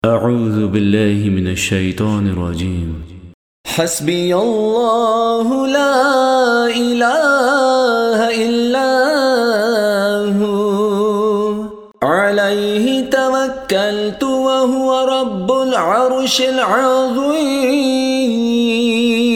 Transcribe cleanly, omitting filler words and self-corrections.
أعوذ بالله من الشيطان الرجيم. حسبي الله لا إله إلا هو عليه توكلت وهو رب العرش العظيم.